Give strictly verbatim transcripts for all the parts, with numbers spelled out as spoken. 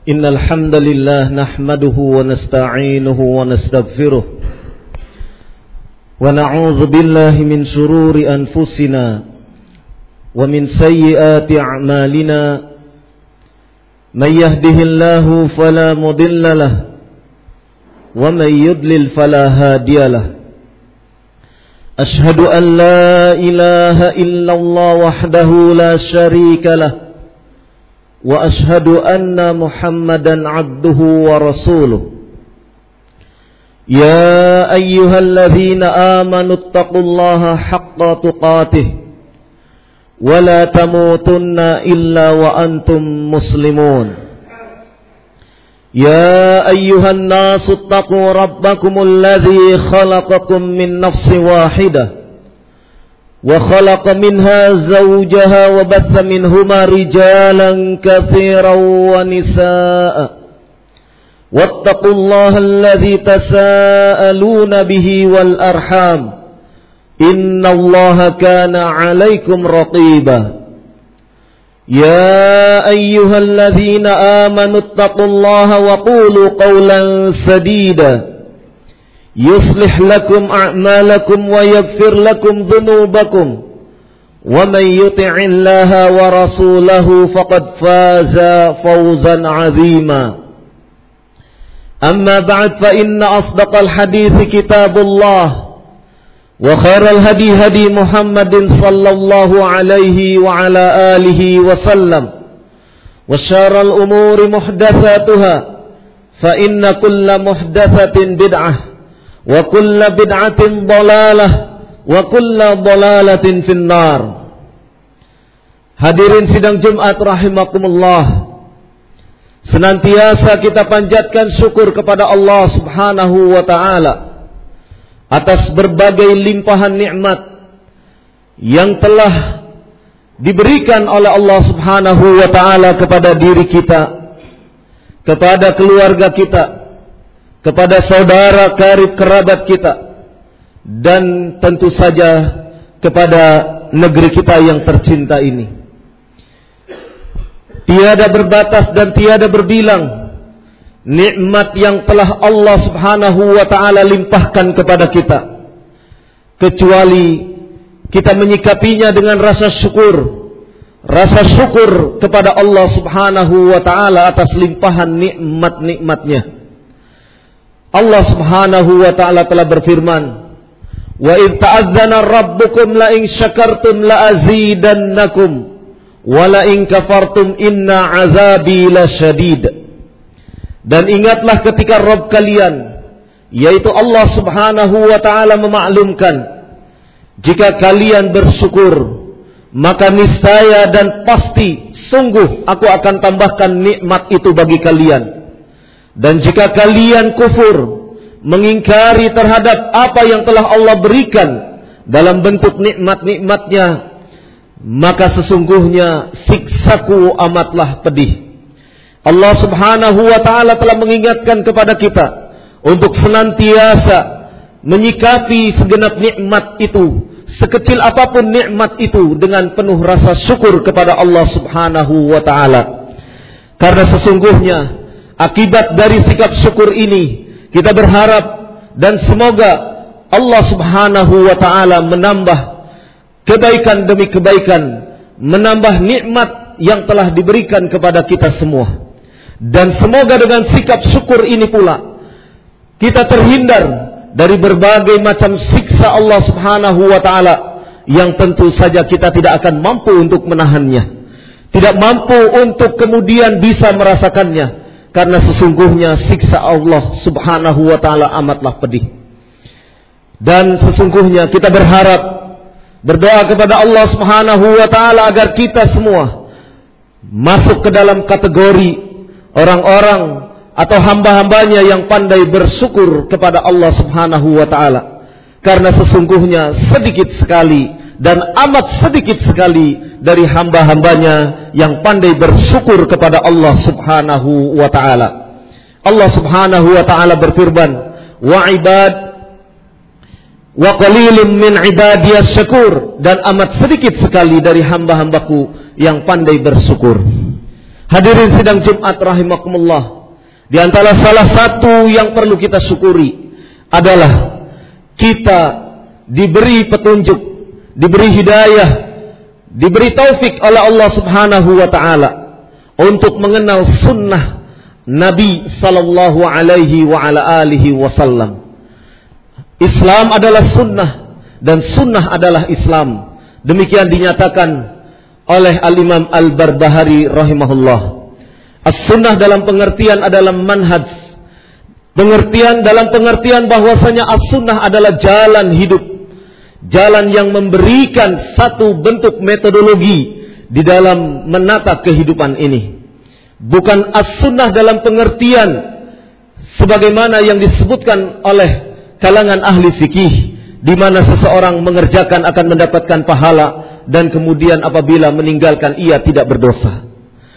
Innal hamdalillah nahmaduhu wa nasta'inuhu wa nastaghfiruh wa na'udzu billahi min shururi anfusina wa min sayyiati a'malina may yahdihillahu fala mudilla lahu wa may yudlil fala hadiya lahu. Ashhadu an la ilaha illallah wahdahu la syarika lahu wa ashhadu anna Muhammadan abduhu wa rasuluh. Ya ayyuhalladzina amanu taqullaha haqqa tuqatih wa la tamutunna illa wa antum muslimun. Ya ayyuhan nasu taqu rabbakumul ladzi khalaqakum min nafsin wahidah وخلق منها زوجها وبث منهما رجالا كثيرا ونساء واتقوا الله الذي تساءلون به والأرحام إن الله كان عليكم رقيبا يا أيها الذين آمنوا اتقوا الله وقولوا قولا سديدا يصلح لكم أعمالكم ويغفر لكم ذنوبكم ومن يطع الله ورسوله فقد فاز فوزا عظيما. أما بعد فإن أصدق الحديث كتاب الله وخير الهدي هدي محمد صلى الله عليه وعلى آله وسلم وشر الأمور محدثاتها فإن كل محدثة بدعة wa kullu bid'atin dhalalah wa kullu dhalalatin finnar. Hadirin sidang Jumat rahimakumullah, senantiasa kita panjatkan syukur kepada Allah Subhanahu wa taala atas berbagai limpahan nikmat yang telah diberikan oleh Allah Subhanahu wa taala kepada diri kita, kepada keluarga kita, kepada saudara karib kerabat kita, dan tentu saja kepada negeri kita yang tercinta ini. Tiada berbatas dan tiada berbilang nikmat yang telah Allah Subhanahu wa taala limpahkan kepada kita, kecuali kita menyikapinya dengan rasa syukur, rasa syukur kepada Allah Subhanahu wa taala atas limpahan nikmat-nikmatnya. Allah Subhanahu wa ta'ala telah berfirman, wa idh ta'adzana rabbukum la in syakartum la azidannakum wa la in kafartum inna azabi lasyadid. Dan ingatlah ketika Rabb kalian, yaitu Allah Subhanahu wa ta'ala, memaklumkan, jika kalian bersyukur maka niscaya dan pasti sungguh aku akan tambahkan nikmat itu bagi kalian. Dan jika kalian kufur, mengingkari terhadap apa yang telah Allah berikan dalam bentuk nikmat-nikmatnya, maka sesungguhnya siksaku amatlah pedih. Allah Subhanahu wa ta'ala telah mengingatkan kepada kita untuk senantiasa menyikapi segenap nikmat itu, sekecil apapun nikmat itu, dengan penuh rasa syukur kepada Allah Subhanahu wa ta'ala. Karena sesungguhnya akibat dari sikap syukur ini, kita berharap dan semoga Allah Subhanahu wa ta'ala menambah kebaikan demi kebaikan, menambah nikmat yang telah diberikan kepada kita semua. Dan semoga dengan sikap syukur ini pula kita terhindar dari berbagai macam siksa Allah Subhanahu wa ta'ala yang tentu saja kita tidak akan mampu untuk menahannya, tidak mampu untuk kemudian bisa merasakannya. Karena sesungguhnya siksa Allah Subhanahu wa ta'ala amatlah pedih. Dan sesungguhnya kita berharap, berdoa kepada Allah Subhanahu wa ta'ala agar kita semua masuk ke dalam kategori orang-orang atau hamba-hambanya yang pandai bersyukur kepada Allah Subhanahu wa ta'ala. Karena sesungguhnya sedikit sekali dan amat sedikit sekali dari hamba-hambanya yang pandai bersyukur kepada Allah Subhanahu wa ta'ala. Allah Subhanahu wa ta'ala berfirman, wa ibad wa qalilun min ibadiyas syakur, dan amat sedikit sekali dari hamba-hambaku yang pandai bersyukur. Hadirin sidang Jumat rahimakumullah, di antara salah satu yang perlu kita syukuri adalah kita diberi petunjuk, diberi hidayah, diberi taufik oleh Allah Subhanahu wa taala untuk mengenal sunnah Nabi sallallahu alaihi wa ala alihi wasallam. Islam adalah sunnah dan sunnah adalah Islam. Demikian dinyatakan oleh Al-Imam Al-Barbahari rahimahullah. As-sunnah dalam pengertian adalah manhaj. Pengertian dalam pengertian bahwasanya as-sunnah adalah jalan hidup. Jalan yang memberikan satu bentuk metodologi di dalam menata kehidupan ini. Bukan as-sunnah dalam pengertian sebagaimana yang disebutkan oleh kalangan ahli fikih, di mana seseorang mengerjakan akan mendapatkan pahala dan kemudian apabila meninggalkan ia tidak berdosa.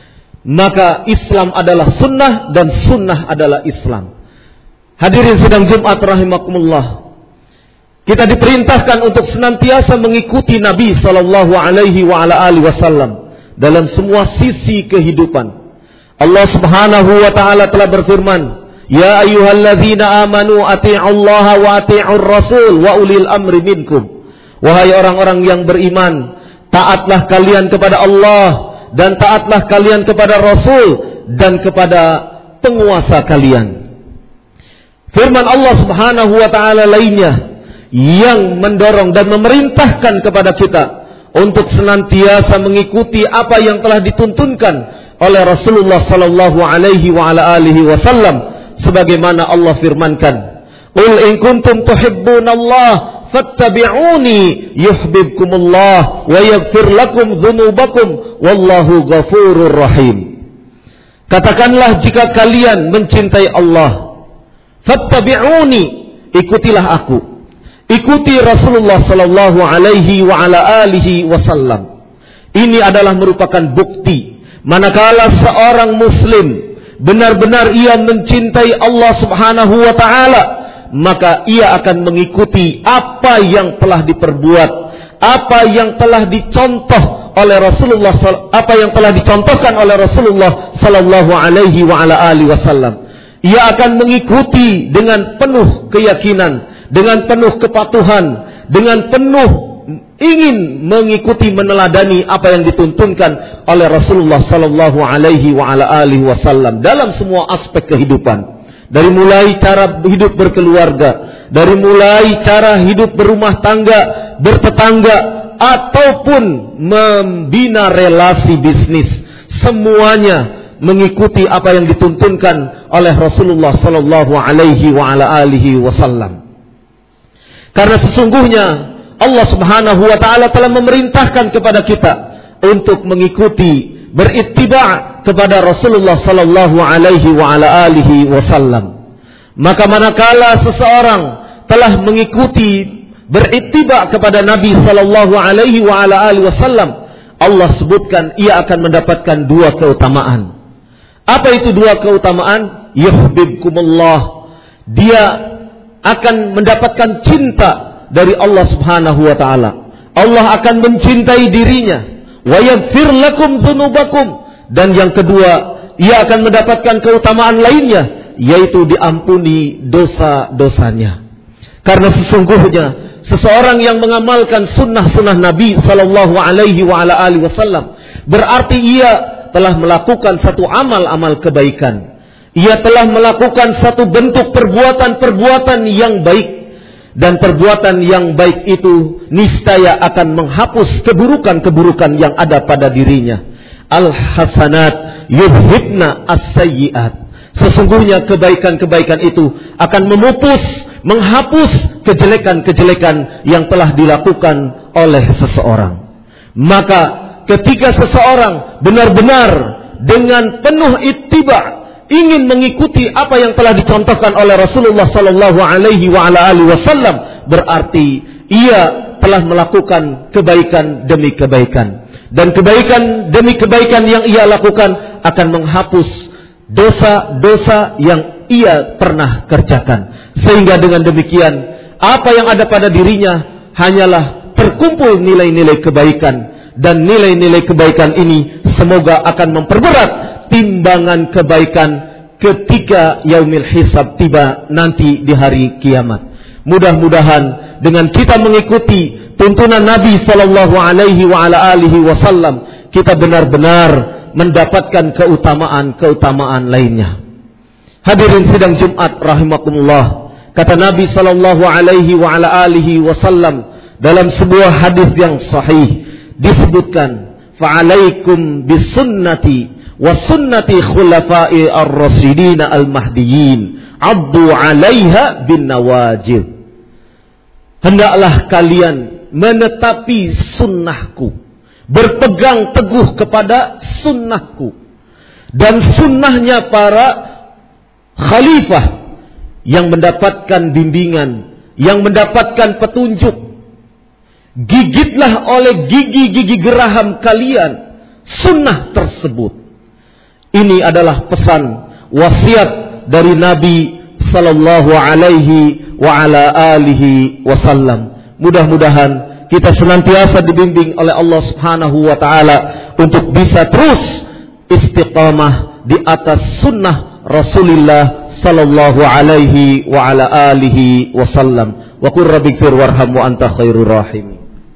Maka Islam adalah sunnah dan sunnah adalah Islam. Hadirin sidang Jumat rahimakumullah, kita diperintahkan untuk senantiasa mengikuti Nabi sallallahu alaihi wa ala alihi wasallam dalam semua sisi kehidupan. Allah Subhanahu wa taala telah berfirman, "Ya ayyuhalladzina amanu atti'ullaha wa atti'ur rasul wa ulil amri minkum." Wahai orang-orang yang beriman, taatlah kalian kepada Allah dan taatlah kalian kepada Rasul dan kepada penguasa kalian. Firman Allah Subhanahu wa taala lainnya yang mendorong dan memerintahkan kepada kita untuk senantiasa mengikuti apa yang telah dituntunkan oleh Rasulullah sallallahu alaihi wa ala alihi wasallam, sebagaimana Allah firmankan, "Qul in kuntum tuhibbunallaha fattabi'uni yuhibbukumullah wa yaghfir lakum dzunubakum wallahu ghafurur rahim." Katakanlah, jika kalian mencintai Allah, fattabi'uni, ikutilah aku. Ikuti Rasulullah sallallahu alaihi wa ala alihi wasallam. Ini adalah merupakan bukti manakala seorang muslim benar-benar ia mencintai Allah Subhanahu wa taala, maka ia akan mengikuti apa yang telah diperbuat, apa yang telah dicontoh oleh Rasulullah, apa yang telah dicontohkan oleh Rasulullah sallallahu alaihi wa ala alihi wasallam. Ia akan mengikuti dengan penuh keyakinan, dengan penuh kepatuhan, dengan penuh ingin mengikuti, meneladani apa yang dituntunkan oleh Rasulullah sallallahu alaihi wa ala alihi wasallam dalam semua aspek kehidupan. Dari mulai cara hidup berkeluarga, dari mulai cara hidup berumah tangga, bertetangga, ataupun membina relasi bisnis, semuanya mengikuti apa yang dituntunkan oleh Rasulullah sallallahu alaihi wa ala alihi wasallam. Karena sesungguhnya Allah Subhanahu wa taala telah memerintahkan kepada kita untuk mengikuti, berittiba' kepada Rasulullah sallallahu alaihi wa ala alihi wasallam. Maka manakala seseorang telah mengikuti, berittiba' kepada Nabi sallallahu alaihi wa ala alihi wasallam, Allah sebutkan ia akan mendapatkan dua keutamaan. Apa itu dua keutamaan? Yuhibbukumullah, dia akan mendapatkan cinta dari Allah Subhanahu wa taala. Allah akan mencintai dirinya. Wa yaghfir lakum dzunubakum, dan yang kedua, ia akan mendapatkan keutamaan lainnya, yaitu diampuni dosa-dosanya. Karena sesungguhnya seseorang yang mengamalkan sunnah-sunnah Nabi sallallahu alaihi wa ala alihi wasallam, berarti ia telah melakukan satu amal-amal kebaikan. Ia telah melakukan satu bentuk perbuatan-perbuatan yang baik. Dan perbuatan yang baik itu niscaya akan menghapus keburukan-keburukan yang ada pada dirinya. Al-hasanat yudhibna as-sayyi'at. Sesungguhnya kebaikan-kebaikan itu akan memupus, menghapus kejelekan-kejelekan yang telah dilakukan oleh seseorang. Maka ketika seseorang benar-benar dengan penuh ittiba' ingin mengikuti apa yang telah dicontohkan oleh Rasulullah sallallahu alaihi wa ala alihi wasallam, berarti ia telah melakukan kebaikan demi kebaikan, dan kebaikan demi kebaikan yang ia lakukan akan menghapus dosa-dosa yang ia pernah kerjakan. Sehingga dengan demikian apa yang ada pada dirinya hanyalah terkumpul nilai-nilai kebaikan, dan nilai-nilai kebaikan ini semoga akan memperberat timbangan kebaikan ketika yaumil hisab tiba nanti di hari kiamat. Mudah-mudahan dengan kita mengikuti tuntunan Nabi sallallahu alaihi wa ala alihi wasallam, kita benar-benar mendapatkan keutamaan-keutamaan lainnya. Hadirin sidang Jumat rahimakumullah. Kata Nabi sallallahu alaihi wa ala alihi wasallam dalam sebuah hadis yang sahih disebutkan, fa'alaikum bisunnati wa sunnati khulafai ar-rasyidin al-mahdiyyin abdu 'alaiha bin nawajib. Hendaklah kalian menetapi sunnahku, berpegang teguh kepada sunnahku dan sunnahnya para khalifah yang mendapatkan bimbingan, yang mendapatkan petunjuk. Gigitlah oleh gigi-gigi geraham kalian sunnah tersebut. Ini adalah pesan wasiat dari Nabi sallallahu alaihi wa ala alihi wasallam. Mudah-mudahan kita senantiasa dibimbing oleh Allah Subhanahu wa taala untuk bisa terus istiqamah di atas sunnah Rasulullah sallallahu alaihi wa ala alihi wasallam. Wa qur rabbighfir warham wa anta khairur rahimin.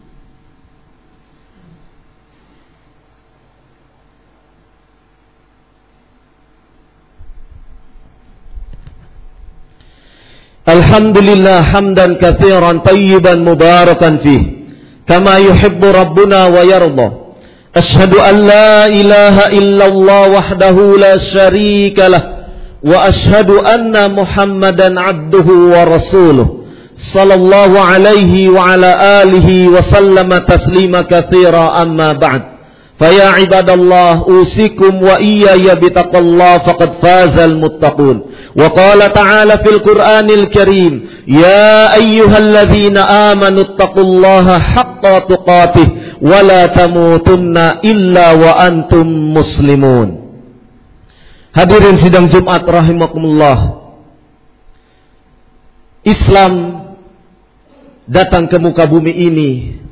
Alhamdulillah hamdan katsiran tayyiban mubarakan fih kama yuhibbu rabbuna wa yarda. Ashhadu an la ilaha illallah wahdahu la syarika lah wa ashhadu anna Muhammadan abduhu wa rasuluh sallallahu alaihi wa ala alihi wa sallama taslima katsira amma ba'd. Faya ibadallah usikum wa iyaya bitaqallah faqad fazal muttaqun. Wa qala ta'ala fil Qur'anil Karim, ya ayyuhalladzina amanu taqullaha haqqa tuqatih wa la tamutunna illa wa antum muslimun. Hadirin sidang Jumat rahimakumullah. Islam datang ke muka bumi ini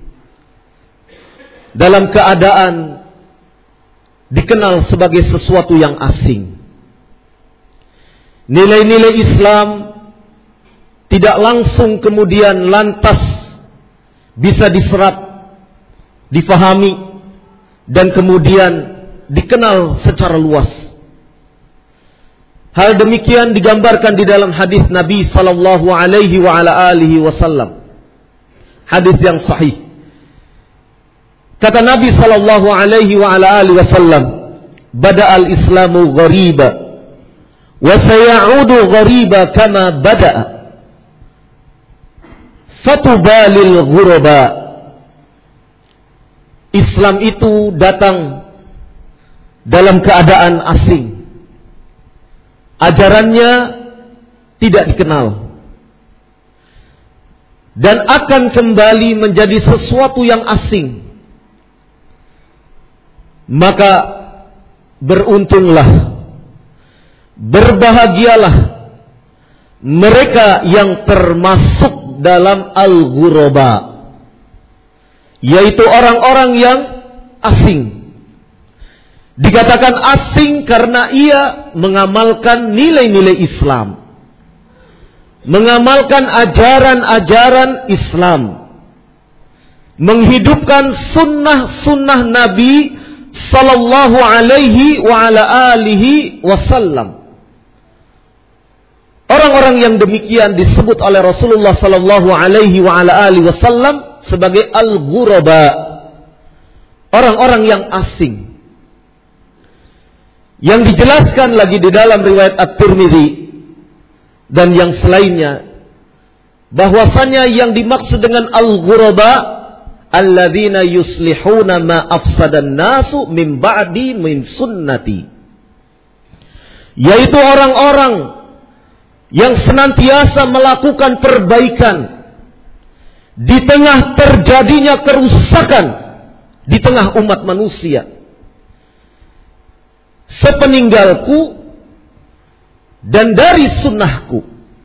dalam keadaan dikenal sebagai sesuatu yang asing. Nilai-nilai Islam tidak langsung kemudian lantas bisa diserap, difahami, dan kemudian dikenal secara luas. Hal demikian digambarkan di dalam hadis Nabi sallallahu alaihi wa ala alihi wasallam. Hadis yang sahih. Kata Nabi sallallahu alaihi wa ala alihi wasallam, "Bada'al Islamu ghariba wa sayaudu ghariba kama bada'a. Fatubalil ghuraba." Islam itu datang dalam keadaan asing. Ajarannya tidak dikenal dan akan kembali menjadi sesuatu yang asing. Maka beruntunglah, berbahagialah mereka yang termasuk dalam al-ghuraba, yaitu orang-orang yang asing. Dikatakan asing karena ia mengamalkan nilai-nilai Islam, mengamalkan ajaran-ajaran Islam, menghidupkan sunnah-sunnah Nabi sallallahu alaihi wa ala alihi wasallam. Orang-orang yang demikian disebut oleh Rasulullah sallallahu alaihi wa ala alihi wasallam sebagai al-ghuraba, orang-orang yang asing. Yang dijelaskan lagi di dalam riwayat At-Tirmidzi dan yang selainnya, bahwasanya yang dimaksud dengan al-ghuraba alladzina yuslihuna ma afsadan nasu min ba'di min sunnati, yaitu orang-orang yang senantiasa melakukan perbaikan di tengah terjadinya kerusakan di tengah umat manusia sepeninggalku dan dari sunnahku.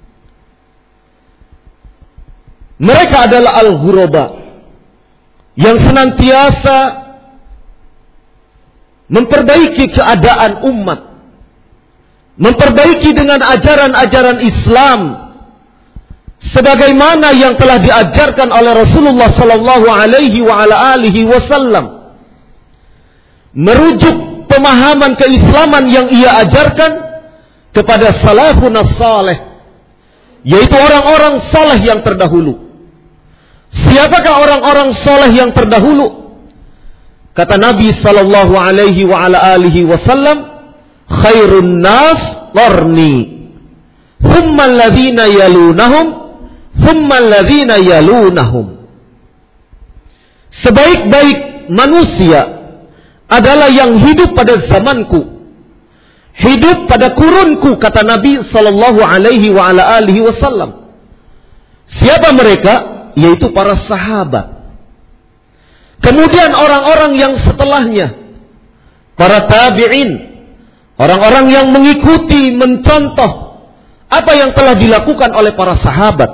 Mereka adalah al-ghuraba yang senantiasa memperbaiki keadaan umat, memperbaiki dengan ajaran-ajaran Islam sebagaimana yang telah diajarkan oleh Rasulullah sallallahu alaihi wa ala alihi wasallam, merujuk pemahaman keislaman yang ia ajarkan kepada salafun salih, yaitu orang-orang saleh yang terdahulu. Siapakah orang-orang saleh yang terdahulu? Kata Nabi sallallahu alaihi wa ala alihi wasallam, khairun nas qarni, thumma alladhina yalunahum, thumma alladhina yalunahum. Sebaik-baik manusia adalah yang hidup pada zamanku, hidup pada kurunku, kata Nabi sallallahu alaihi wa ala alihi wasallam. Siapa mereka? Yaitu para sahabat. Kemudian orang-orang yang setelahnya, para tabi'in, orang-orang yang mengikuti, mencontoh apa yang telah dilakukan oleh para sahabat.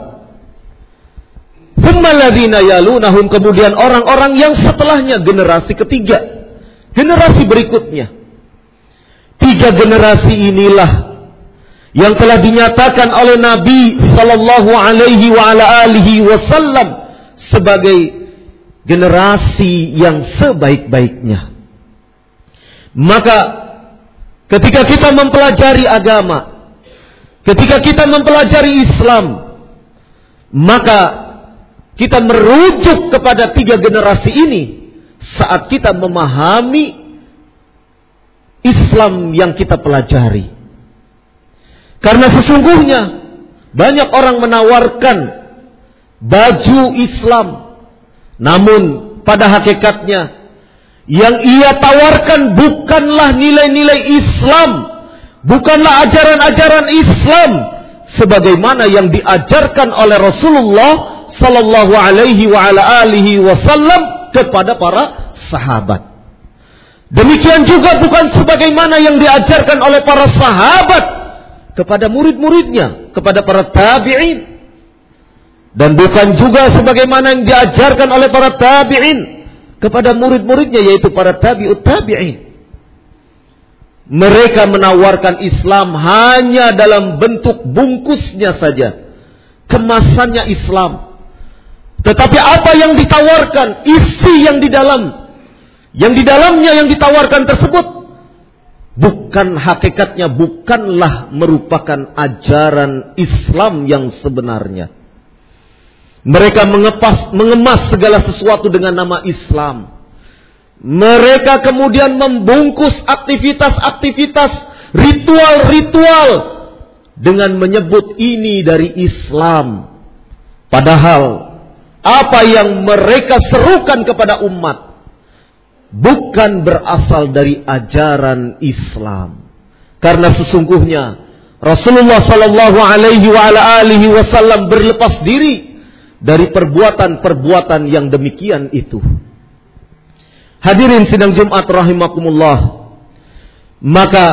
Tsumma alladzina yalunahum, kemudian orang-orang yang setelahnya, generasi ketiga, generasi berikutnya. Tiga generasi inilah yang telah dinyatakan oleh Nabi sallallahu alaihi wa ala alihi wasallam sebagai generasi yang sebaik-baiknya. Maka ketika kita mempelajari agama, ketika kita mempelajari Islam, maka kita merujuk kepada tiga generasi ini saat kita memahami Islam yang kita pelajari. Karena sesungguhnya banyak orang menawarkan baju Islam, namun pada hakikatnya yang ia tawarkan bukanlah nilai-nilai Islam, bukanlah ajaran-ajaran Islam sebagaimana yang diajarkan oleh Rasulullah sallallahu alaihi wa ala alihi wasallam kepada para sahabat. Demikian juga bukan sebagaimana yang diajarkan oleh para sahabat kepada murid-muridnya, kepada para tabi'in. Dan bukan juga sebagaimana yang diajarkan oleh para tabi'in kepada murid-muridnya, yaitu para tabi'ut tabi'in. Mereka menawarkan Islam hanya dalam bentuk bungkusnya saja, kemasannya Islam. Tetapi apa yang ditawarkan, isi yang di dalam, yang di dalamnya yang ditawarkan tersebut, bukan hakikatnya, bukanlah merupakan ajaran Islam yang sebenarnya. Mereka mengepas, mengemas segala sesuatu dengan nama Islam. Mereka kemudian membungkus aktivitas-aktivitas, ritual-ritual dengan menyebut ini dari Islam. Padahal apa yang mereka serukan kepada umat bukan berasal dari ajaran Islam. Karena sesungguhnya Rasulullah sallallahu alaihi wa ala alihi wasallam berlepas diri dari perbuatan-perbuatan yang demikian itu. Hadirin sidang Jumat rahimakumullah. Maka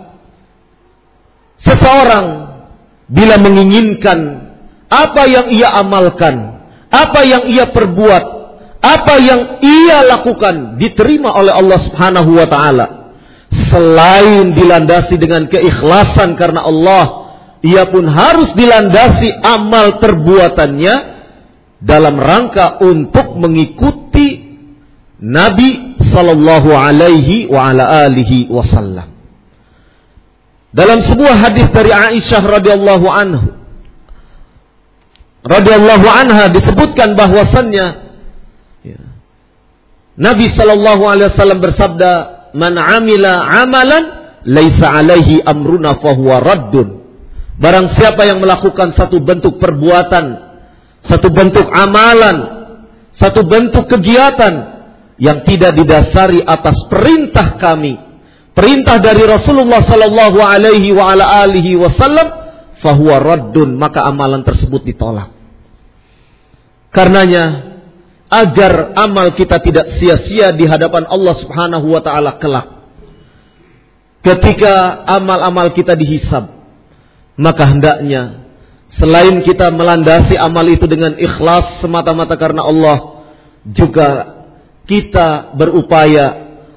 seseorang bila menginginkan apa yang ia amalkan, apa yang ia perbuat, apa yang ia lakukan diterima oleh Allah Subhanahu wa taala, selain dilandasi dengan keikhlasan karena Allah, ia pun harus dilandasi amal perbuatannya dalam rangka untuk mengikuti Nabi sallallahu alaihi wa ala alihi wasallam. Dalam sebuah hadis dari Aisyah radhiyallahu anhu radhiyallahu anha disebutkan bahwasannya ya, Nabi sallallahu alaihi wasallam bersabda, "Man 'amila 'amalan laisa 'alaihi amruna fahuwa raddun." Barang siapa yang melakukan satu bentuk perbuatan, satu bentuk amalan, satu bentuk kegiatan yang tidak didasari atas perintah kami, perintah dari Rasulullah sallallahu alaihi wa ala alihi wasallam, fahuwa raddun, maka amalan tersebut ditolak. Karenanya, agar amal kita tidak sia-sia di hadapan Allah Subhanahu wa taala kelak, ketika amal-amal kita dihisab, maka hendaknya selain kita melandasi amal itu dengan ikhlas semata-mata karena Allah, juga kita berupaya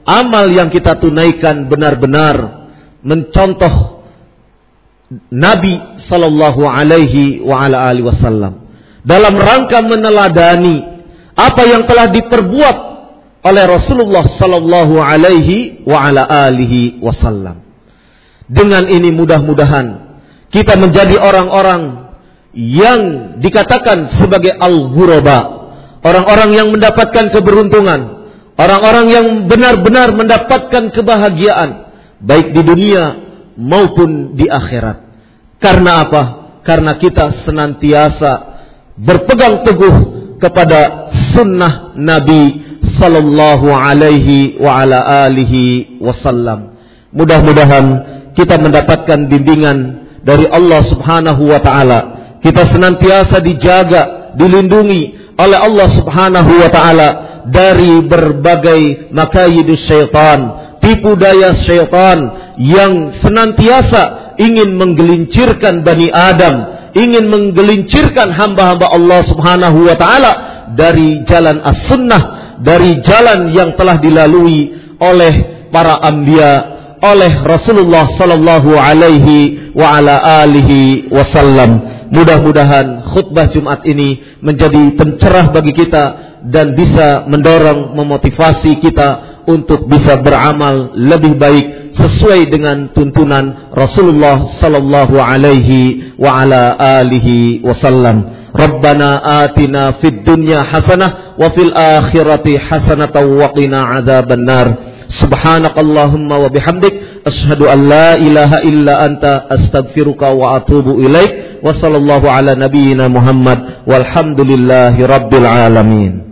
amal yang kita tunaikan benar-benar mencontoh Nabi sallallahu alaihi wa ala alihi wasallam dalam rangka meneladani apa yang telah diperbuat oleh Rasulullah sallallahu alaihi wa ala alihi wasallam. Dengan ini mudah-mudahan kita menjadi orang-orang yang dikatakan sebagai al-ghuraba, orang-orang yang mendapatkan keberuntungan, orang-orang yang benar-benar mendapatkan kebahagiaan baik di dunia maupun di akhirat. Karena apa? Karena kita senantiasa berpegang teguh kepada sunnah Nabi sallallahu alaihi wa ala alihi wasallam. Mudah-mudahan kita mendapatkan bimbingan dari Allah Subhanahu wa taala. Kita senantiasa dijaga, dilindungi oleh Allah Subhanahu wa taala dari berbagai makayidus syaitan, tipu daya syaitan yang senantiasa ingin menggelincirkan Bani Adam, ingin menggelincirkan hamba-hamba Allah Subhanahu wa taala dari jalan as-sunnah, dari jalan yang telah dilalui oleh para anbiya, oleh Rasulullah sallallahu alaihi wa ala alihi wasallam. Mudah-mudahan khutbah Jumat ini menjadi pencerah bagi kita dan bisa mendorong, memotivasi kita untuk bisa beramal lebih baik sesuai dengan tuntunan Rasulullah sallallahu alaihi wa ala alihi wasallam. Rabbana atina fid dunya hasanah wa fil akhirati hasanatan wa qina adzabannar. Subhanakallahumma wa bihamdik asyhadu an la ilaha illa anta astaghfiruka wa atubu ilaik. Wa sallallahu ala nabiyyina Muhammad walhamdulillahi rabbil alamin.